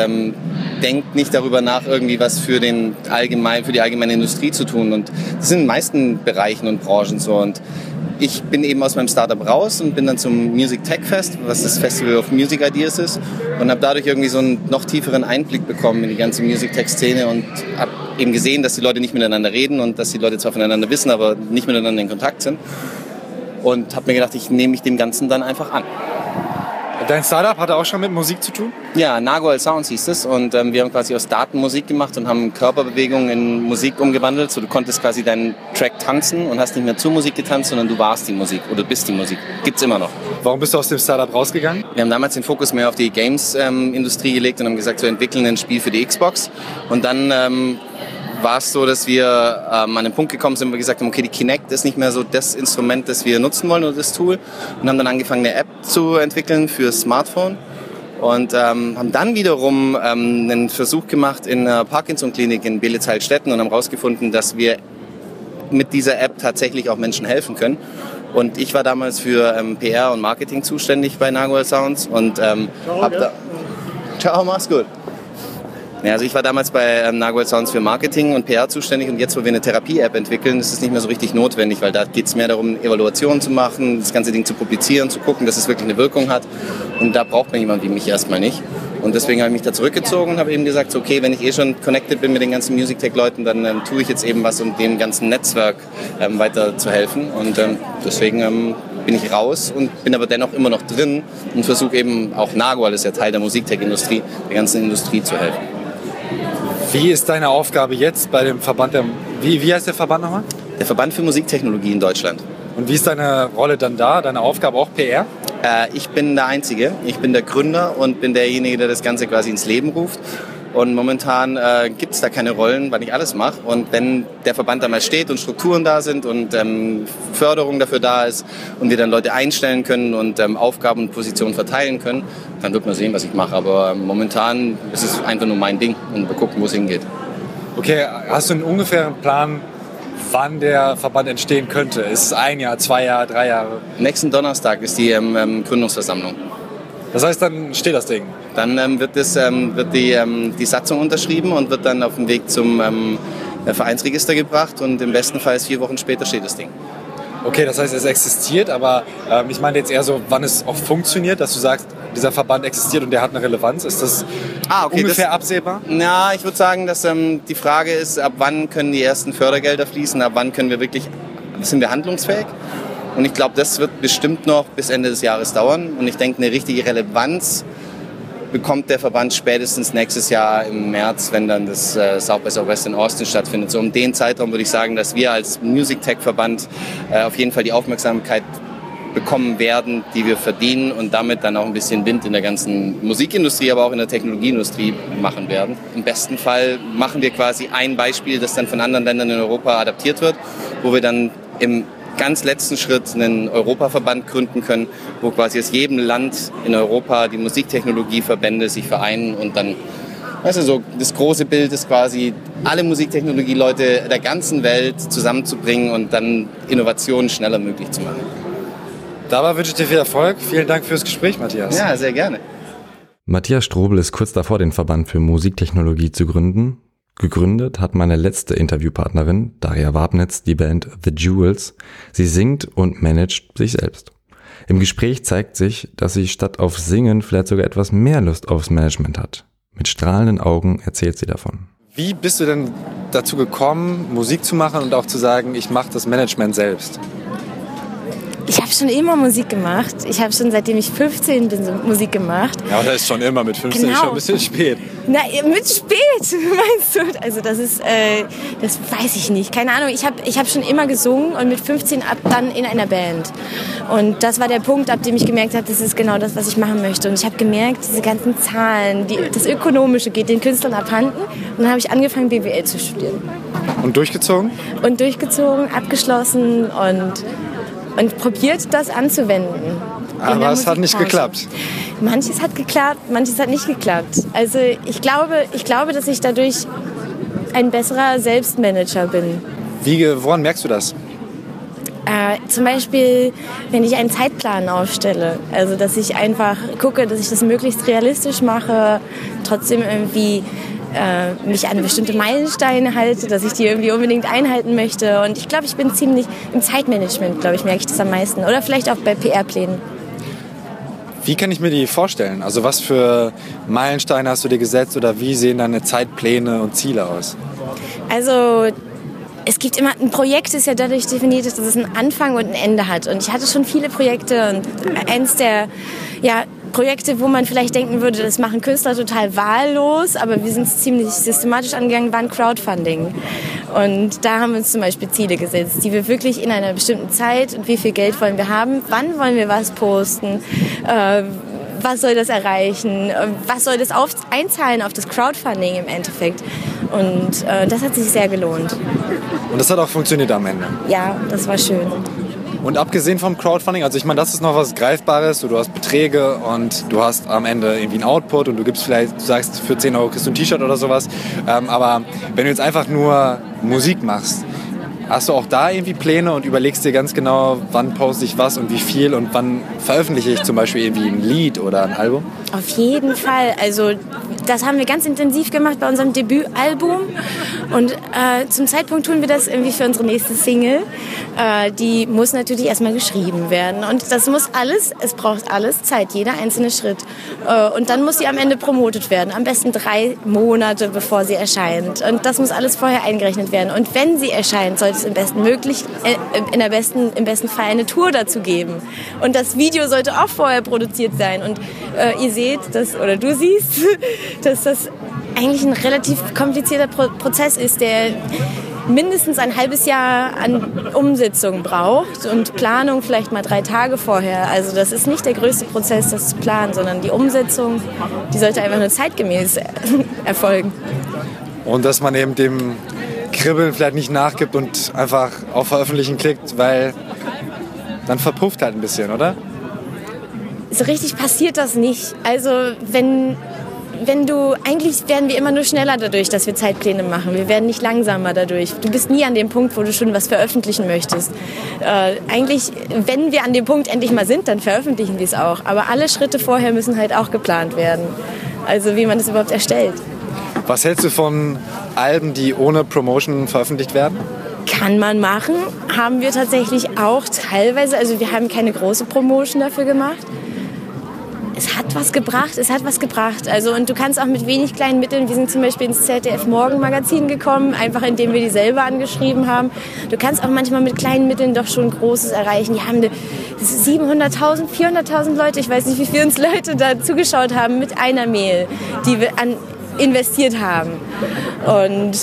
denkt nicht darüber nach, irgendwie was für die allgemeine Industrie zu tun. Und das ist in den meisten Bereichen und Branchen so. Und ich bin eben aus meinem Startup raus und bin dann zum Music Tech Fest, was das Festival of Music Ideas ist, und habe dadurch irgendwie so einen noch tieferen Einblick bekommen in die ganze Music Tech Szene und habe eben gesehen, dass die Leute nicht miteinander reden und dass die Leute zwar voneinander wissen, aber nicht miteinander in Kontakt sind. Und habe mir gedacht, ich nehme mich dem Ganzen dann einfach an. Dein Startup hatte auch schon mit Musik zu tun? Ja, Nagual Sounds hieß es und wir haben quasi aus Daten Musik gemacht und haben Körperbewegungen in Musik umgewandelt. So, du konntest quasi deinen Track tanzen und hast nicht mehr zur Musik getanzt, sondern du warst die Musik oder bist die Musik. Gibt's immer noch. Warum bist du aus dem Startup rausgegangen? Wir haben damals den Fokus mehr auf die Games-Industrie gelegt und haben gesagt, wir entwickeln ein Spiel für die Xbox. Und dann war es so, dass wir an einen Punkt gekommen sind, wo wir gesagt haben, okay, die Kinect ist nicht mehr so das Instrument, das wir nutzen wollen oder das Tool. Und haben dann angefangen, eine App zu entwickeln für Smartphone. Und haben dann wiederum einen Versuch gemacht in einer Parkinson-Klinik in Belitz-Heilstätten und haben herausgefunden, dass wir mit dieser App tatsächlich auch Menschen helfen können. Und ich war damals für PR und Marketing zuständig bei Nagual Sounds und Ciao, mach's gut. Ja, also ich war damals bei Nagual Sounds für Marketing und PR zuständig und jetzt, wo wir eine Therapie-App entwickeln, ist es nicht mehr so richtig notwendig, weil da geht es mehr darum, Evaluationen zu machen, das ganze Ding zu publizieren, zu gucken, dass es wirklich eine Wirkung hat und da braucht man jemanden wie mich erstmal nicht. Und deswegen habe ich mich da zurückgezogen und habe eben gesagt, so, okay, wenn ich schon connected bin mit den ganzen Music Tech-Leuten, dann tue ich jetzt eben was, um dem ganzen Netzwerk weiter zu helfen und deswegen bin ich raus und bin aber dennoch immer noch drin und versuche eben, auch Nagual ist ja Teil der Musiktech-Industrie, der ganzen Industrie zu helfen. Wie ist deine Aufgabe jetzt bei dem Verband? Wie heißt der Verband nochmal? Der Verband für Musiktechnologie in Deutschland. Und wie ist deine Rolle dann da? Deine Aufgabe auch PR? Ich bin der Einzige. Ich bin der Gründer und bin derjenige, der das Ganze quasi ins Leben ruft. Und momentan gibt es da keine Rollen, weil ich alles mache. Und wenn der Verband da mal steht und Strukturen da sind und Förderung dafür da ist und wir dann Leute einstellen können und Aufgaben und Positionen verteilen können, dann wird man sehen, was ich mache. Aber momentan ist es einfach nur mein Ding und wir gucken, wo es hingeht. Okay, hast du einen ungefähren Plan, wann der Verband entstehen könnte? Ist es 1 Jahr, 2 Jahre, 3 Jahre? Nächsten Donnerstag ist die Gründungsversammlung. Das heißt, dann steht das Ding? Dann wird die Satzung unterschrieben und wird dann auf dem Weg zum Vereinsregister gebracht und im besten Fall 4 Wochen später steht das Ding. Okay, das heißt, es existiert, aber ich meine jetzt eher so, wann es auch funktioniert, dass du sagst, dieser Verband existiert und der hat eine Relevanz. Ist das ungefähr absehbar? Ja, ich würde sagen, dass die Frage ist, ab wann können die ersten Fördergelder fließen, ab wann sind wir handlungsfähig? Und ich glaube, das wird bestimmt noch bis Ende des Jahres dauern. Und ich denke, eine richtige Relevanz bekommt der Verband spätestens nächstes Jahr im März, wenn dann das South by Southwest in Austin stattfindet. So um den Zeitraum würde ich sagen, dass wir als Music Tech Verband auf jeden Fall die Aufmerksamkeit bekommen werden, die wir verdienen und damit dann auch ein bisschen Wind in der ganzen Musikindustrie, aber auch in der Technologieindustrie machen werden. Im besten Fall machen wir quasi ein Beispiel, das dann von anderen Ländern in Europa adaptiert wird, wo wir dann im ganz letzten Schritt einen Europaverband gründen können, wo quasi aus jedem Land in Europa die Musiktechnologieverbände sich vereinen und dann, weißt du, so das große Bild ist quasi, alle Musiktechnologie-Leute der ganzen Welt zusammenzubringen und dann Innovationen schneller möglich zu machen. Dabei wünsche ich dir viel Erfolg. Vielen Dank fürs Gespräch, Matthias. Ja, sehr gerne. Matthias Strobel ist kurz davor, den Verband für Musiktechnologie zu gründen. Gegründet hat meine letzte Interviewpartnerin, Daria Wabnitz, die Band The Jewels. Sie singt und managt sich selbst. Im Gespräch zeigt sich, dass sie statt auf Singen vielleicht sogar etwas mehr Lust aufs Management hat. Mit strahlenden Augen erzählt sie davon. Wie bist du denn dazu gekommen, Musik zu machen und auch zu sagen, ich mache das Management selbst? Ich habe schon immer Musik gemacht. Ich habe schon seitdem ich 15 bin Musik gemacht. Ja, aber das ist schon immer mit 15 schon ein bisschen spät. Na, mit spät, meinst du? Also das ist, das weiß ich nicht. Keine Ahnung, ich hab schon immer gesungen und mit 15 dann in einer Band. Und das war der Punkt, ab dem ich gemerkt habe, das ist genau das, was ich machen möchte. Und ich habe gemerkt, diese ganzen Zahlen, das Ökonomische geht den Künstlern abhanden. Und dann habe ich angefangen, BWL zu studieren. Und durchgezogen? Und durchgezogen, abgeschlossen und probiert, das anzuwenden. Aber es hat nicht geklappt. Manches hat geklappt, manches hat nicht geklappt. Also ich glaube, dass ich dadurch ein besserer Selbstmanager bin. Woran merkst du das? Zum Beispiel, wenn ich einen Zeitplan aufstelle. Also dass ich einfach gucke, dass ich das möglichst realistisch mache, trotzdem irgendwie mich an bestimmte Meilensteine halte, dass ich die irgendwie unbedingt einhalten möchte. Und ich glaube, ich bin ziemlich im Zeitmanagement, glaube ich, merke ich das am meisten. Oder vielleicht auch bei PR-Plänen. Wie kann ich mir die vorstellen? Also was für Meilensteine hast du dir gesetzt oder wie sehen deine Zeitpläne und Ziele aus? Also es gibt immer, ein Projekt ist ja dadurch definiert, dass es einen Anfang und ein Ende hat. Und ich hatte schon viele Projekte und eins der Projekte, wo man vielleicht denken würde, das machen Künstler total wahllos, aber wir sind es ziemlich systematisch angegangen, waren Crowdfunding. Und da haben wir uns zum Beispiel Ziele gesetzt, die wir wirklich in einer bestimmten Zeit und wie viel Geld wollen wir haben, wann wollen wir was posten, was soll das erreichen, was soll das einzahlen auf das Crowdfunding im Endeffekt. Und das hat sich sehr gelohnt. Und das hat auch funktioniert am Ende? Ja, das war schön. Und abgesehen vom Crowdfunding, also ich meine, das ist noch was Greifbares, du hast Beträge und du hast am Ende irgendwie einen Output und du gibst vielleicht, du sagst, für 10 Euro kriegst du ein T-Shirt oder sowas. Aber wenn du jetzt einfach nur Musik machst, hast du auch da irgendwie Pläne und überlegst dir ganz genau, wann poste ich was und wie viel und wann veröffentliche ich zum Beispiel irgendwie ein Lied oder ein Album? Auf jeden Fall. Also das haben wir ganz intensiv gemacht bei unserem Debütalbum und zum Zeitpunkt tun wir das irgendwie für unsere nächste Single. Die muss natürlich erstmal geschrieben werden und das muss alles, es braucht alles Zeit, jeder einzelne Schritt. Und dann muss sie am Ende promotet werden, am besten 3 Monate bevor sie erscheint. Und das muss alles vorher eingerechnet werden. Und wenn sie erscheint, sollte es im besten Fall eine Tour dazu geben. Und das Video sollte auch vorher produziert sein. Und ihr seht, du siehst, dass das eigentlich ein relativ komplizierter Prozess ist, der mindestens ein halbes Jahr an Umsetzung braucht und Planung vielleicht mal 3 Tage vorher. Also das ist nicht der größte Prozess, das zu planen, sondern die Umsetzung, die sollte einfach nur zeitgemäß erfolgen. Und dass man eben dem Kribbeln vielleicht nicht nachgibt und einfach auf Veröffentlichen klickt, weil dann verpufft halt ein bisschen, oder? So richtig passiert das nicht. Also eigentlich werden wir immer nur schneller dadurch, dass wir Zeitpläne machen. Wir werden nicht langsamer dadurch. Du bist nie an dem Punkt, wo du schon was veröffentlichen möchtest. Eigentlich, wenn wir an dem Punkt endlich mal sind, dann veröffentlichen wir es auch. Aber alle Schritte vorher müssen halt auch geplant werden. Also wie man das überhaupt erstellt. Was hältst du von Alben, die ohne Promotion veröffentlicht werden? Kann man machen. Haben wir tatsächlich auch teilweise. Also wir haben keine große Promotion dafür gemacht. Es hat was gebracht. Also, und du kannst auch mit wenig kleinen Mitteln, wir sind zum Beispiel ins ZDF-Morgen-Magazin gekommen, einfach indem wir die selber angeschrieben haben. Du kannst auch manchmal mit kleinen Mitteln doch schon Großes erreichen. Die haben 700.000, 400.000 Leute, ich weiß nicht, wie viele uns Leute da zugeschaut haben mit einer Mail, die wir investiert haben. Und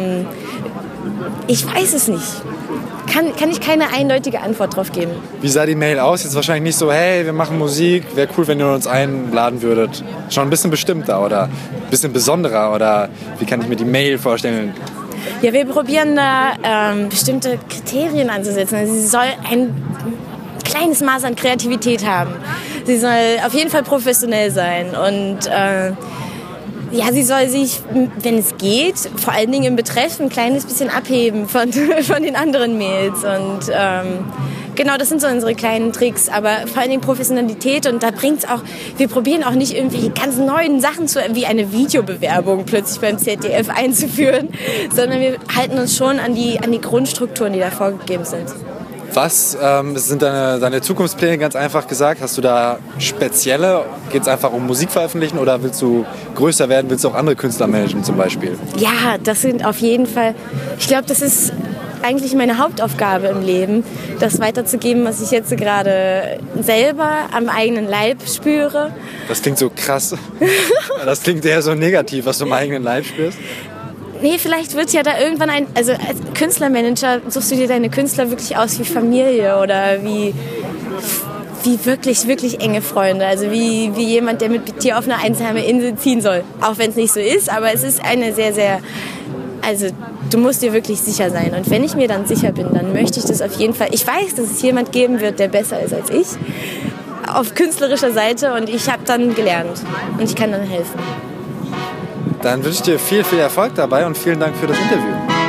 ich weiß es nicht. Kann ich keine eindeutige Antwort drauf geben. Wie sah die Mail aus? Jetzt wahrscheinlich nicht so, hey, wir machen Musik, wäre cool, wenn ihr uns einladen würdet. Schon ein bisschen bestimmter oder ein bisschen besonderer oder wie kann ich mir die Mail vorstellen? Ja, wir probieren da bestimmte Kriterien anzusetzen. Also sie soll ein kleines Maß an Kreativität haben. Sie soll auf jeden Fall professionell sein und ja, sie soll sich, wenn es geht, vor allen Dingen im Betreff ein kleines bisschen abheben von den anderen Mails. Und genau, das sind so unsere kleinen Tricks. Aber vor allen Dingen Professionalität. Und da bringt's auch, wir probieren auch nicht irgendwelche ganz neuen Sachen wie eine Videobewerbung plötzlich beim ZDF einzuführen, sondern wir halten uns schon an die Grundstrukturen, die da vorgegeben sind. Was sind deine Zukunftspläne, ganz einfach gesagt? Hast du da spezielle? Geht es einfach um Musik veröffentlichen oder willst du größer werden? Willst du auch andere Künstler managen zum Beispiel? Ja, das sind auf jeden Fall, ich glaube, das ist eigentlich meine Hauptaufgabe im Leben, das weiterzugeben, was ich jetzt gerade selber am eigenen Leib spüre. Das klingt so krass. Das klingt eher so negativ, was du am eigenen Leib spürst. Nee, vielleicht wird ja da irgendwann also als Künstlermanager suchst du dir deine Künstler wirklich aus wie Familie oder wie wirklich, wirklich enge Freunde. Also wie jemand, der mit dir auf eine einsame Insel ziehen soll. Auch wenn es nicht so ist, aber es ist eine sehr, sehr, also du musst dir wirklich sicher sein. Und wenn ich mir dann sicher bin, dann möchte ich das auf jeden Fall. Ich weiß, dass es jemand geben wird, der besser ist als ich, auf künstlerischer Seite und ich habe dann gelernt und ich kann dann helfen. Dann wünsche ich dir viel, viel Erfolg dabei und vielen Dank für das Interview.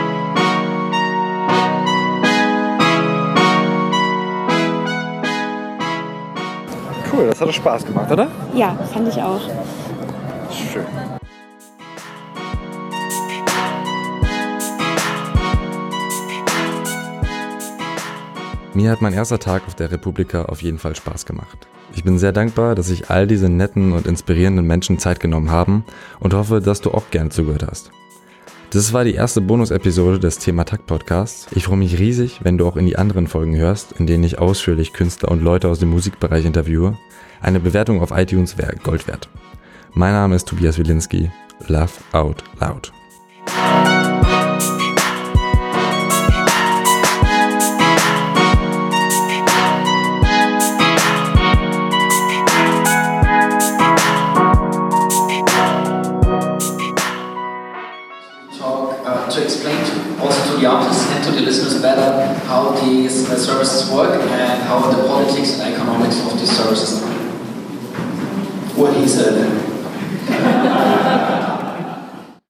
Cool, das hat Spaß gemacht, oder? Ja, fand ich auch. Schön. Mir hat mein erster Tag auf der Republika auf jeden Fall Spaß gemacht. Ich bin sehr dankbar, dass sich all diese netten und inspirierenden Menschen Zeit genommen haben und hoffe, dass du auch gerne zugehört hast. Das war die erste Bonus-Episode des Thema Takt Podcasts. Ich freue mich riesig, wenn du auch in die anderen Folgen hörst, in denen ich ausführlich Künstler und Leute aus dem Musikbereich interviewe. Eine Bewertung auf iTunes wäre Gold wert. Mein Name ist Tobias Wilinski. Laugh out loud. To explain also to the artists and to the listeners better how these services work and how the politics and economics of these services are. What he said.